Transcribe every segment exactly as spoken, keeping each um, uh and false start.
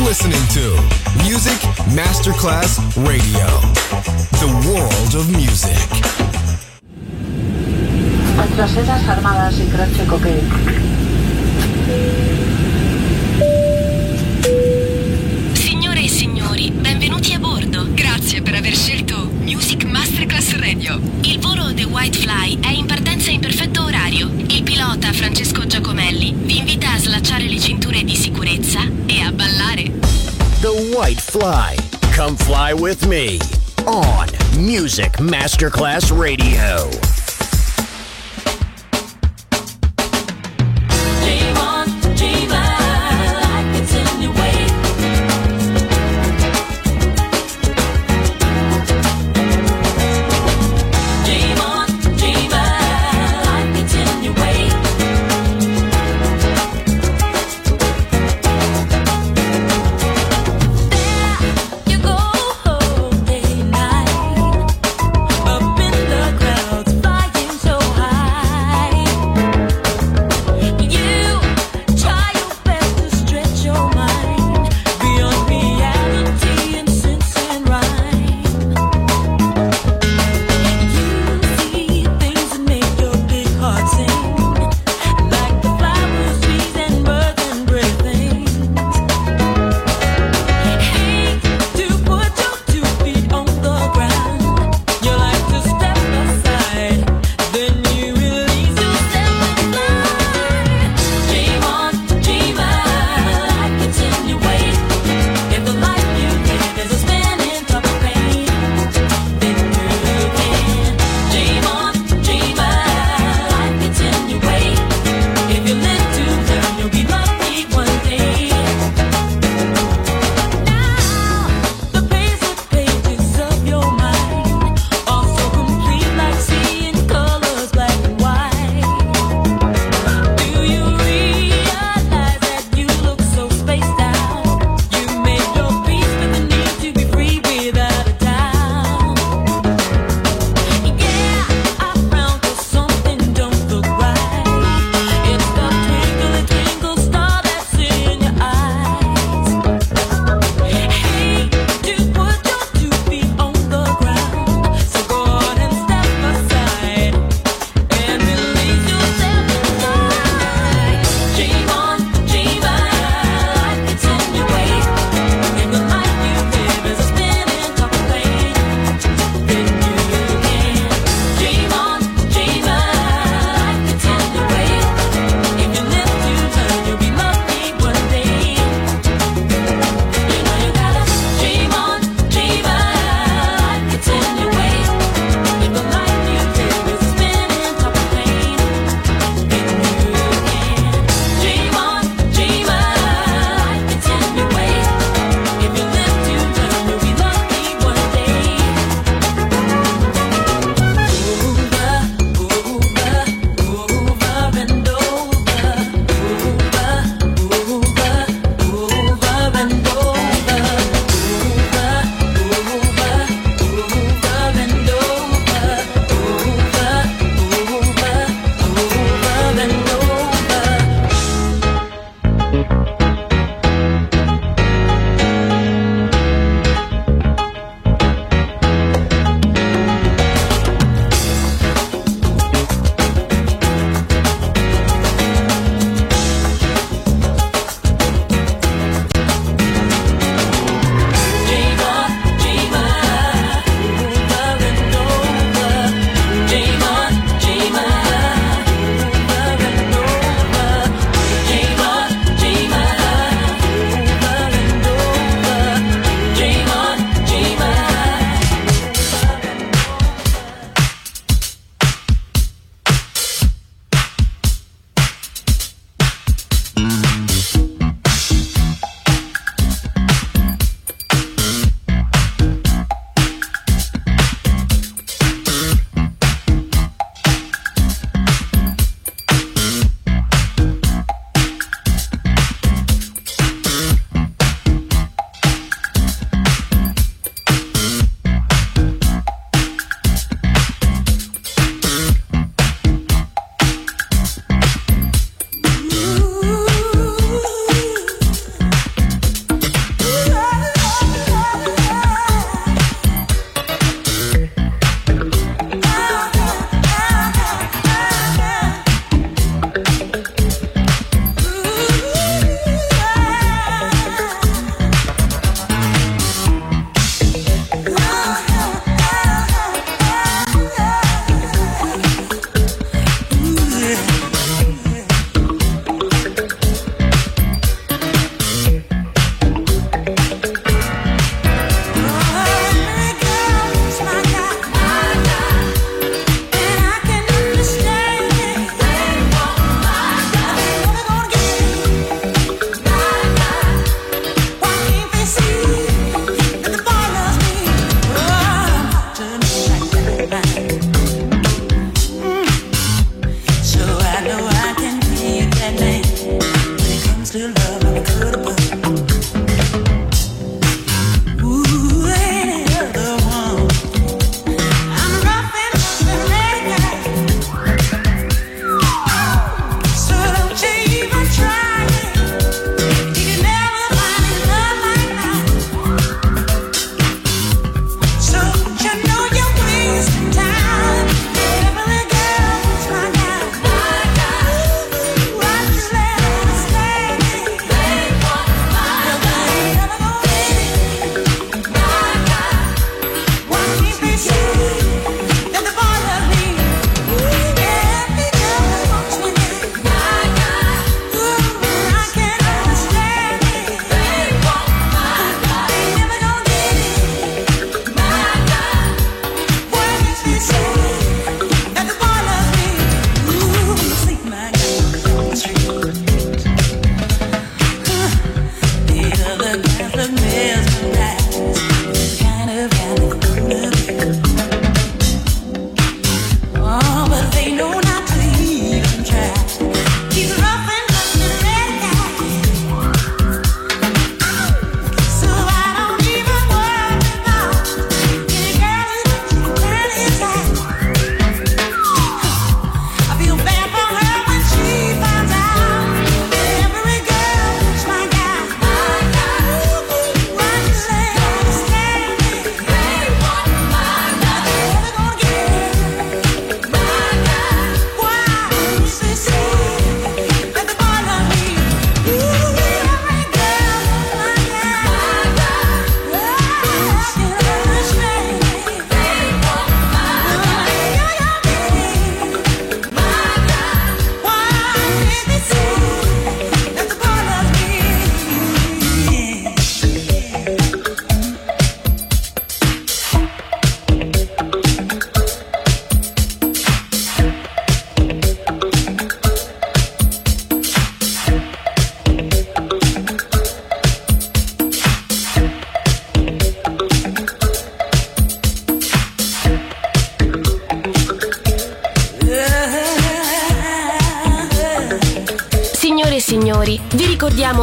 listening to Music Masterclass Radio, the world of music. Nuestras sedas armadas y croce coque. Signore e signori, benvenuti a bordo. Grazie per aver scelto Music Masterclass Radio. Il volo The White Fly è in partenza in perfetto orario. Il pilota Francesco Giacomelli vi invita a slacciare le cinture di sicurezza e a ballare. The White Fly. Come fly with me on Music Masterclass Radio. Up in the clouds, fly.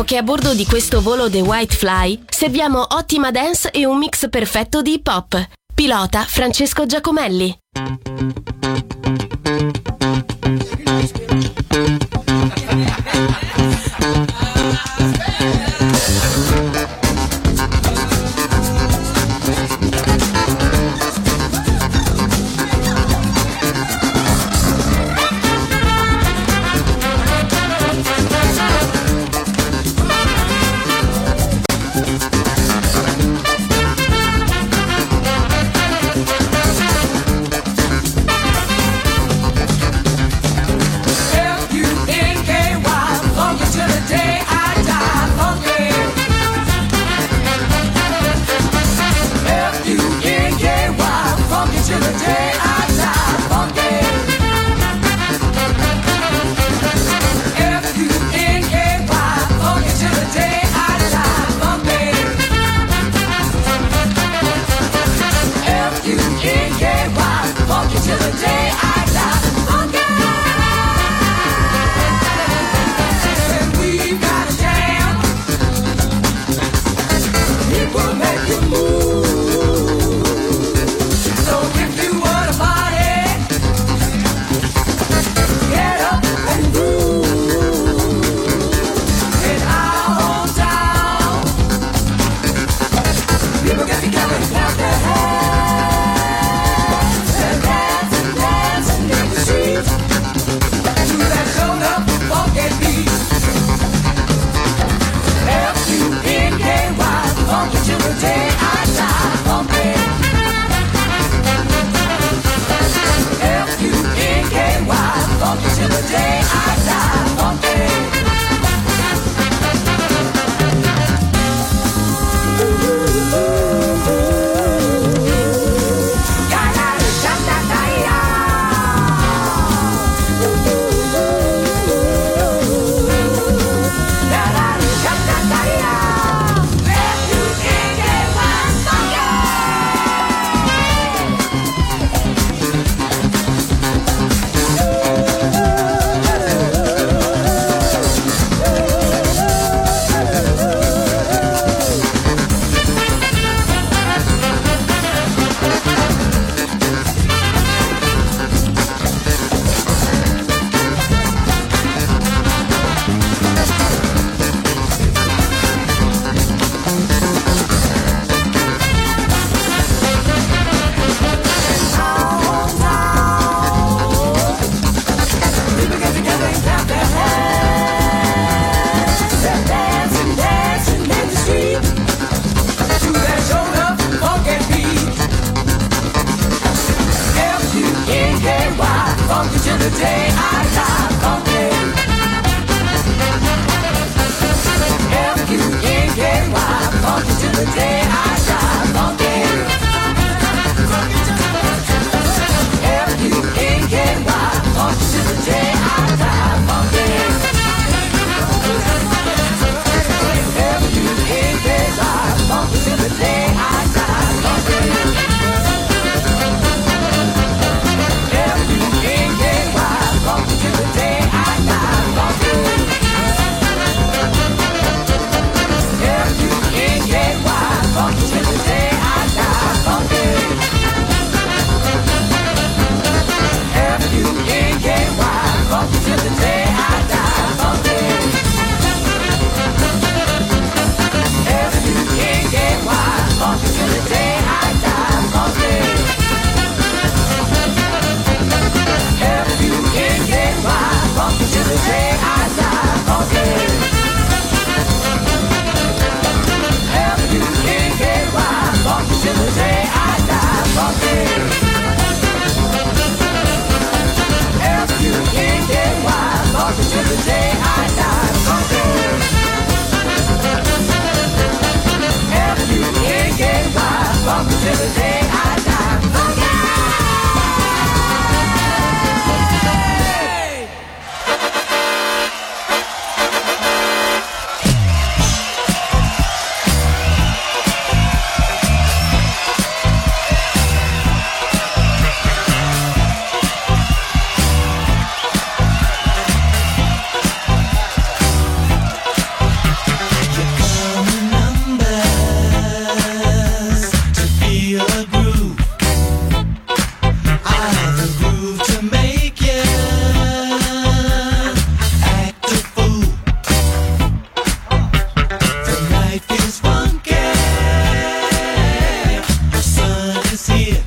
che a bordo di questo volo The White Fly serviamo ottima dance e un mix perfetto di hip hop. Pilota Francesco Giacomelli. Life is funky. The sun is here.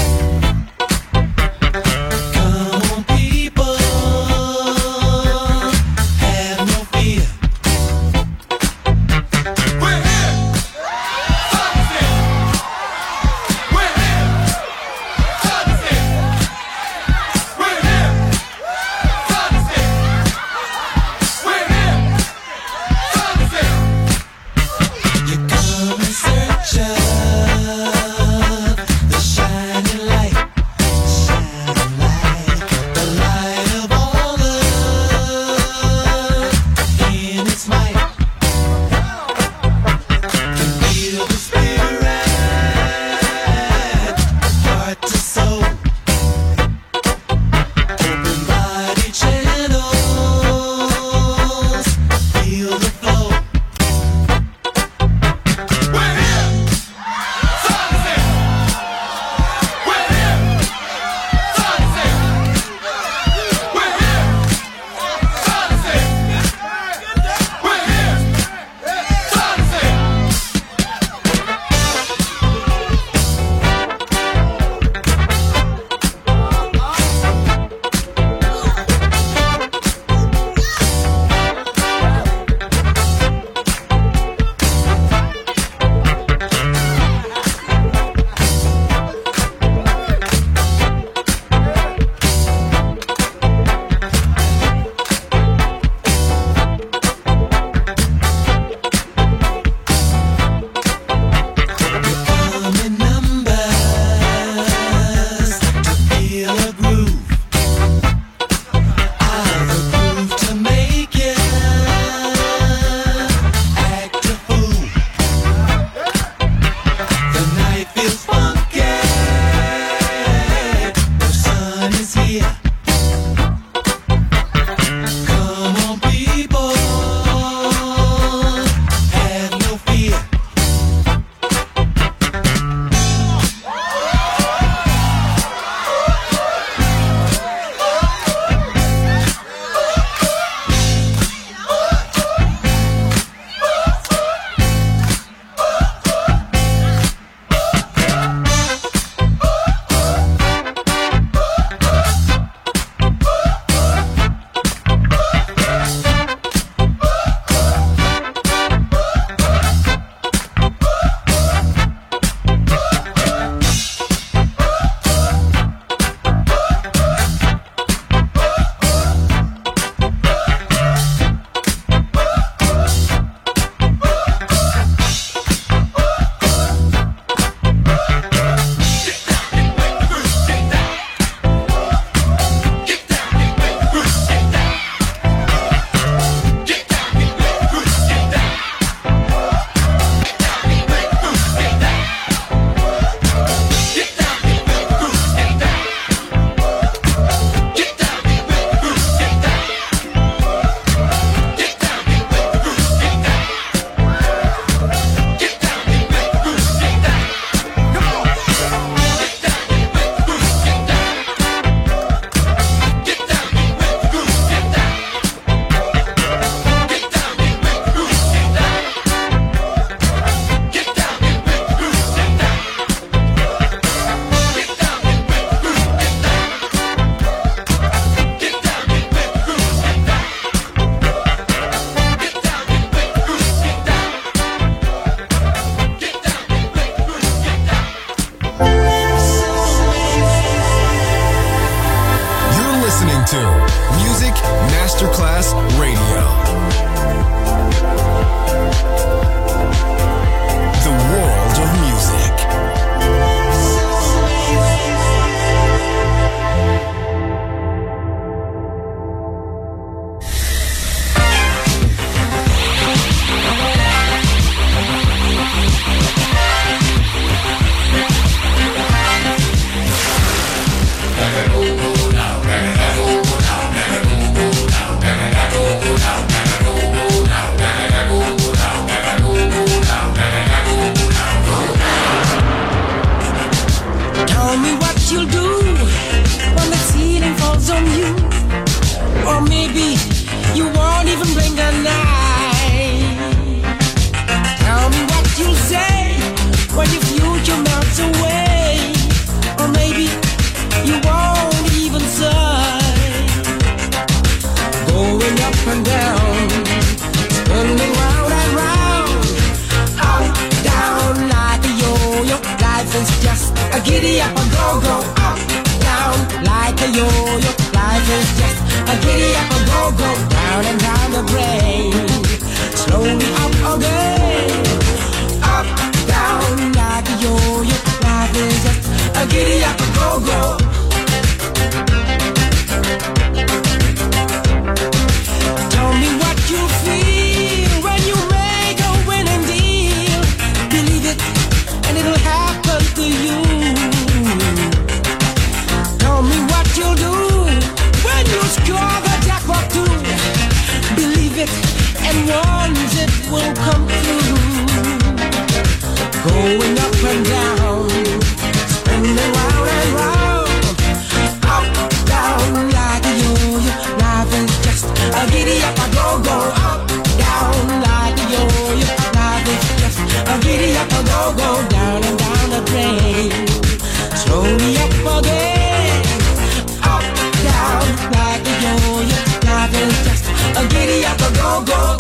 Come on, people, have no fear. We're here. Sun is here. We're here. Sun is here. We're here. Sun is here. We're here. Sun is here. You got a giddy up, a go go, up, down, like a yo-yo. Life is just a giddy up, a go go, down and down the drain. Slowly up again, up, down, like a yo-yo. Life is just a giddy up, a go go. Tell me what you feel when you make a winning deal. Believe it, and it'll happen to you. Tell me what you'll do when you score the jackpot too. Believe it, and once it will come through. Going up and down, spinning round and round, up, down like a yo-yo. Life is just a giddy up, a go go, up, down like a yo-yo. Life is just a giddy up, a go go, down and down the drain. Slowly up again, up, down like a yo-yo. Life is just a giddy up, a go go.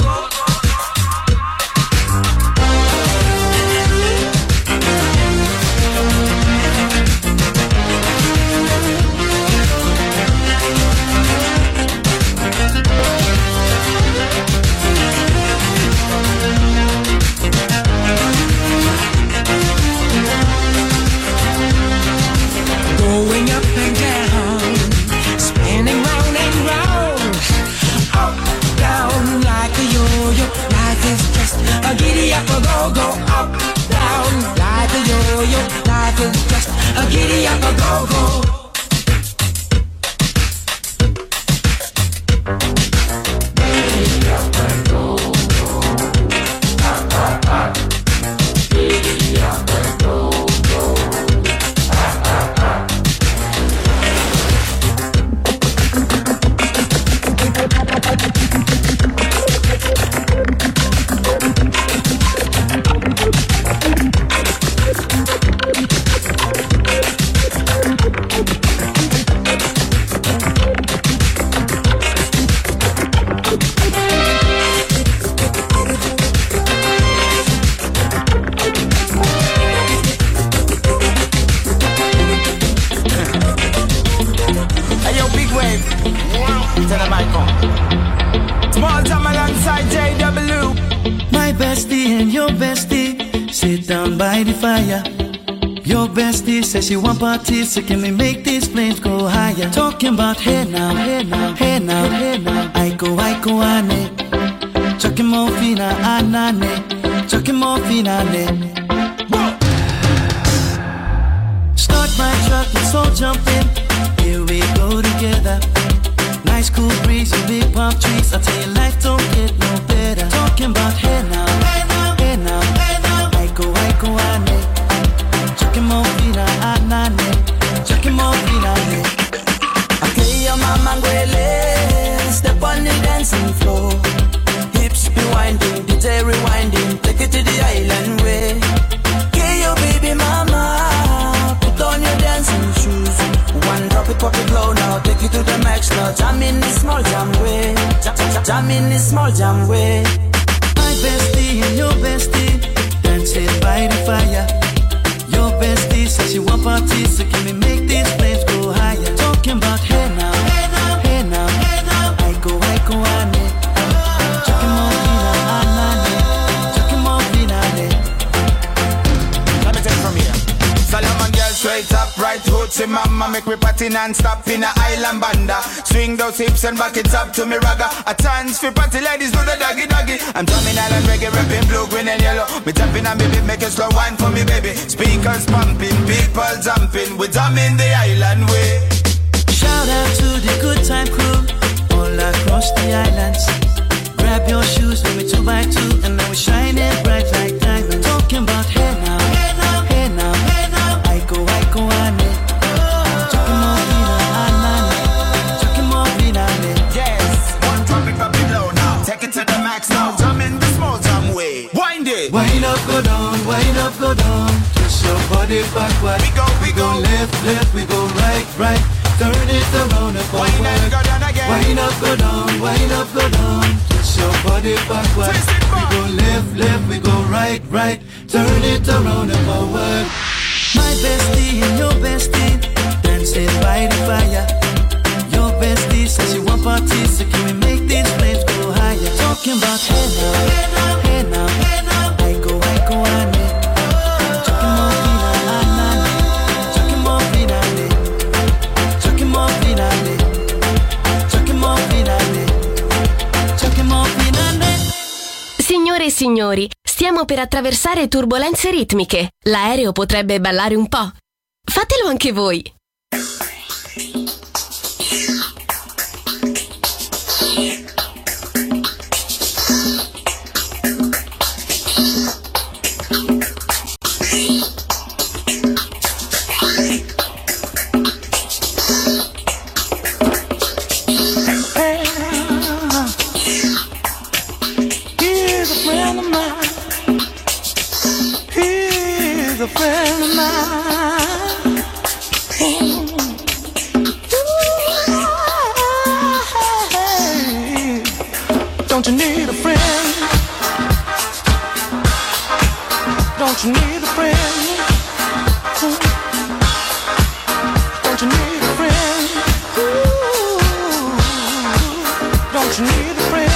Going up and down, spinning round and round, up, down like a yo-yo. Life is just a giddy up, a go go, up, down like a yo-yo. Life is just a giddy up, a go go. Says she want parties, so can we make these flames go higher? Talking about hey now, hey now, hey now, hey now. Aiko, aiko, ane. Chucking more fina, anane. Chucking more fina, ane. Start my truck, let's all jump in. Here we go together. Nice cool breeze and big palm trees. I tell you, life don't get no better. Talking about hey now, hey now, hey now, hey now. Aiko, aiko, ane. Chucking more fina, anane. Chucking more fina, ane. Okay, your mama ngwele. Step on the dancing floor. Hips be winding, D J rewinding. Take it to the island way. Okay, your baby mama. Put on your dancing shoes. One drop it, pop it low now. Take it to the max now. Jam in this small jam way. Jam, jam, jam in this small jam way. My bestie and your bestie dancing by the fire. Your bestie says she want parties, so can we make these flames go higher? Talking about hey now, hey now, hey now, hey now. Aiko, aiko, ane. Chucking more fina, anane. Chucking more fina, ane. Let me take it from here. Solomon girl straight up, right hoots in mama. Make me party non-stop in a island banda. Swing those hips and back it up to me ragga. A chance for party ladies do the doggy doggy. I'm drumming island reggae, rapping blue, green and yellow. Me tapping on me beat, make a slow wine for me baby. Speakers pumping, people jumping. We drumming the island way. Shout out to the good time crew all across the islands. Grab your shoes with me two by two, and now we're shining bright like diamonds. Talking about hey now, hey now, hey now, hey now. Aiko, aiko, ane. Chucking more fina, anane. Chucking more fina, ane. Yes, one drop it up below now. Take it to the max now. Jump in the small jam way. Wind it. Wind up, go down, wind up, go down. Twist your body backward. We go, we We go go. left, left, we go right, right. Turn it around and Wind up, forward. go down again. Wind up, go down, wind up, go down. Twist your body backward. Twist it We back. go left, left, we go right, right. Turn it around and forward. My bestie and your bestie dancing by the fire. Your bestie says you want parties, so can we make these flames go higher? Talking about hey now, hey now, hey now, hey now. I go, I go, I need. Talking more fina, I need. Talking more fina, I need. Talking more fina, I need. Talking more fina, I need. Talking more fina, I need. Signore e signori, stiamo per attraversare turbolenze ritmiche. L'aereo potrebbe ballare un po'. Fatelo anche voi. A friend of mine. Ooh. Ooh. Don't you need a friend? Don't you need a friend? Ooh. Don't you need a friend? Ooh. Don't you need a friend?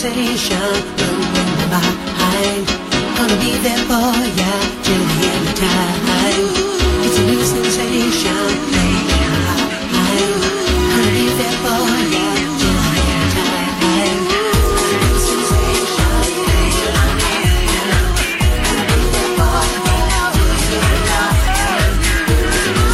sensation, running behind. Gonna be there for ya till the end of time. It's a new sensation, I'm gonna be there for ya till the end of time. It's a new sensation, I'm gonna be there for ya till the end of time. It's a new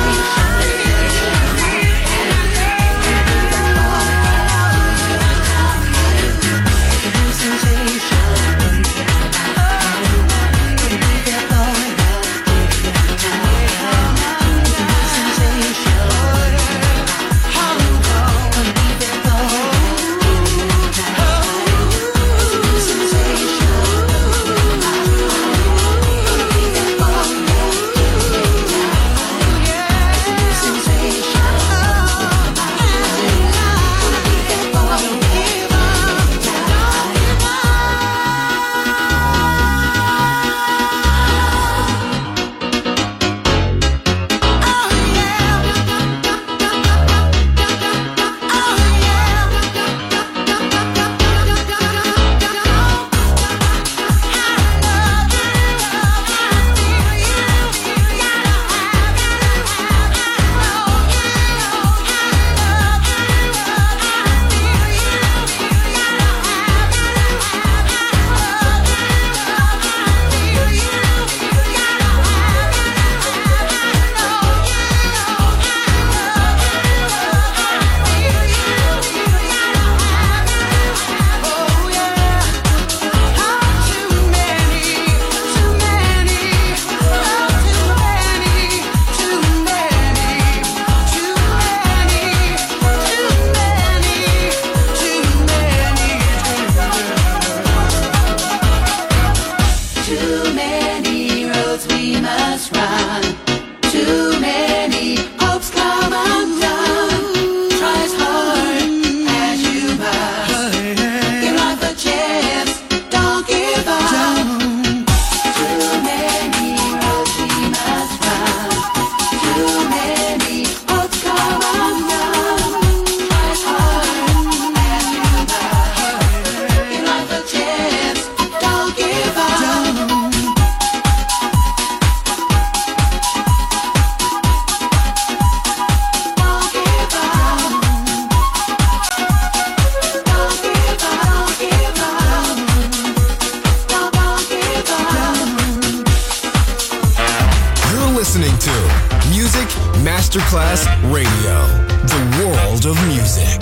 Masterclass Radio, the world of music.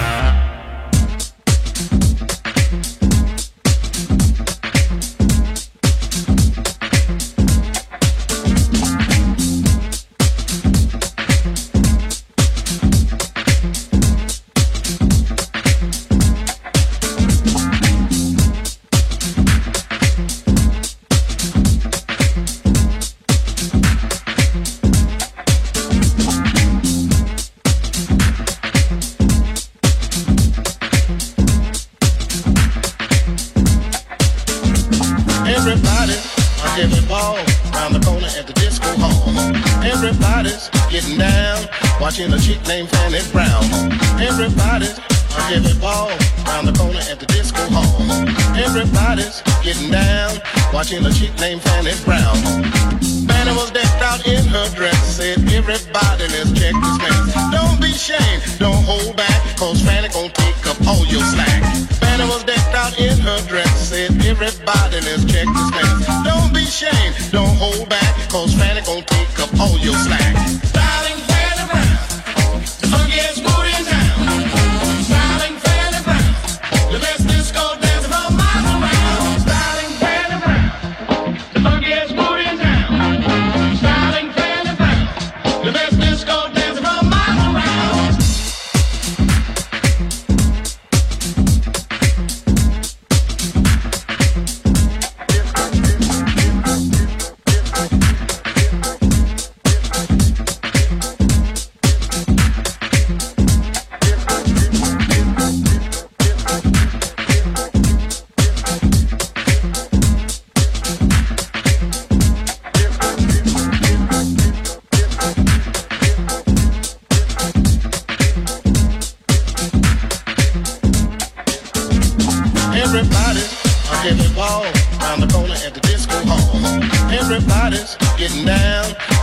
Watching a chick named Fanny Brown. Everybody's a heavy ball round the corner at the disco hall. Everybody's getting down, watching a chick named Fanny Brown. Fanny was decked out in her dress, said everybody let's check this mess. Don't be ashamed, don't hold back, cause Fanny gon' take up all your slack. Fanny was decked out in her dress, said everybody let's check this mess. Don't be ashamed, don't hold back, cause Fanny gon' take up all your slack. Darling Fanny Brown, the funkiest booty in town. Darling Fanny Brown, the best disco dancer from miles around. Darling Fanny Brown, the funkiest booty in town. Darling Fanny Brown, the best disco dancer from miles around.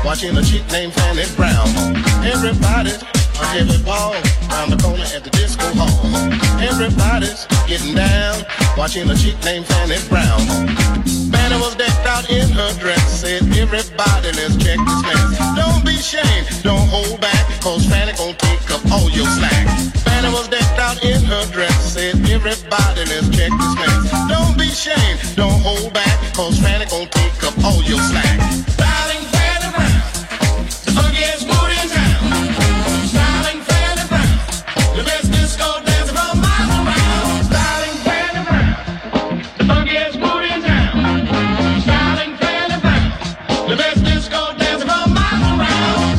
watching a chick named Fanny Brown. Everybody's a heavy ball round the corner at the disco hall. Everybody's getting down, watching a chick named Fanny Brown. Fanny was decked out in her dress, said everybody let's check this mess. Don't be ashamed, don't hold back, cause Fanny gon' take up all your slack. Fanny was decked out in her dress, said everybody let's check this mess. Don't be ashamed, don't hold back, cause Fanny gon' take up all your slack. Darling Fanny Brown, the funkiest mood in town. Darling Fanny Brown, the best disco dancer from miles around. Darling Fanny Brown, the funkiest mood in town. Darling Fanny Brown, the best disco dancer from miles around.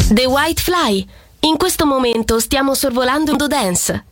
The White Fly. In questo momento stiamo sorvolando Indo Dance.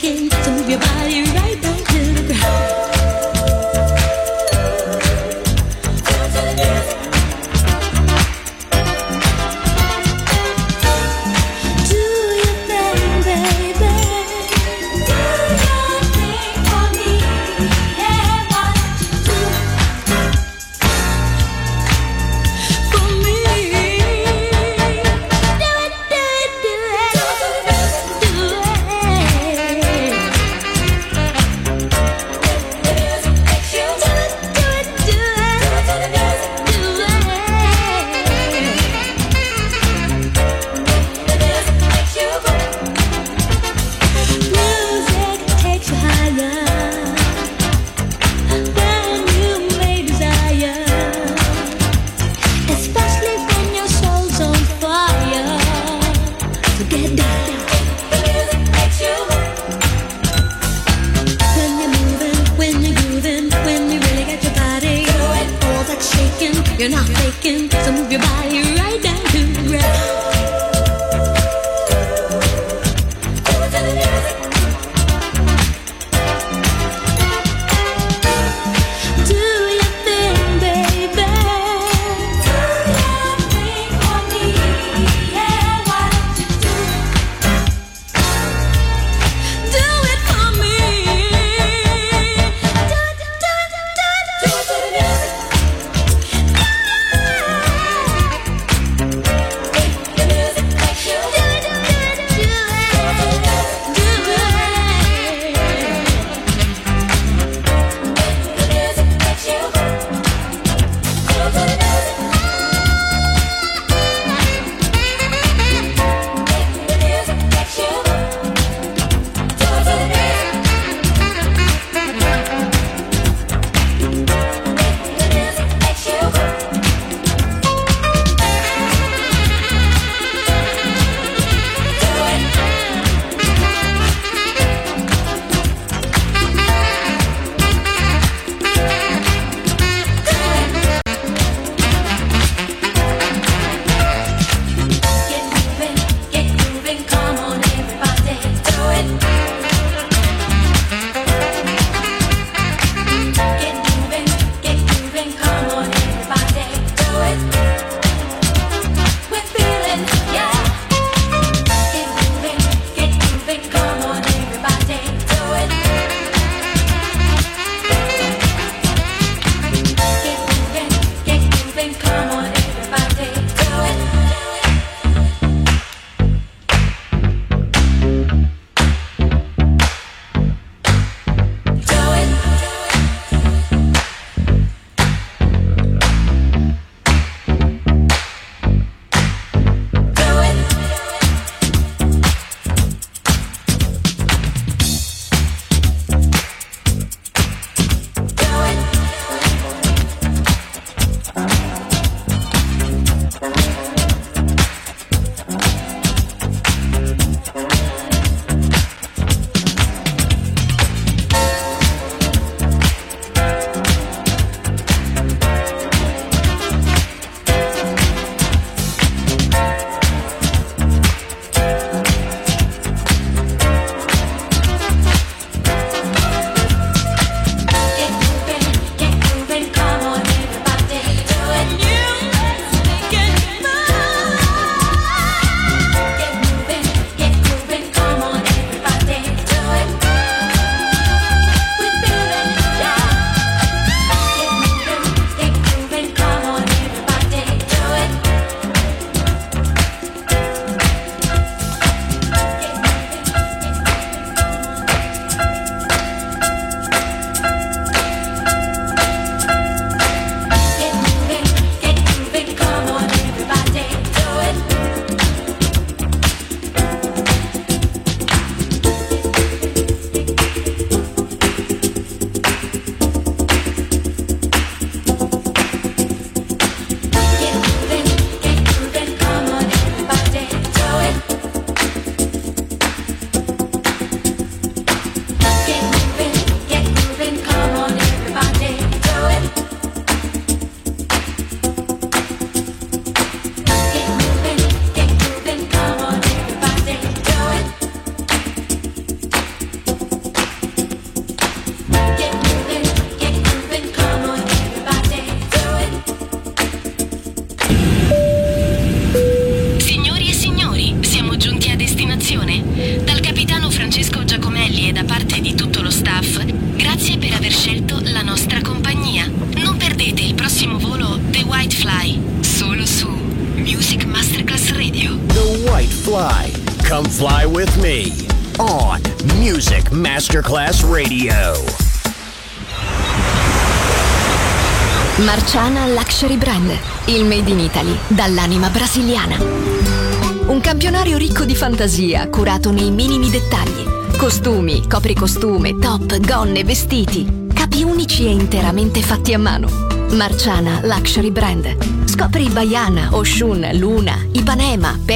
shaking, so move your body right down to the ground. You're not faking, so move your body right down to the ground. Do your thing, baby. Do your thing for me. Yeah, why don't you do it? Do it for me. Do it, do it, do it, do it, do it to the music. Fly with me on Music Masterclass Radio. Marciana Luxury Brand, il made in Italy dall'anima brasiliana. Un campionario ricco di fantasia, curato nei minimi dettagli. Costumi, copricostume, top, gonne, vestiti, capi unici e interamente fatti a mano. Marciana Luxury Brand. Scopri Baiana, Oshun, Luna, Ipanema,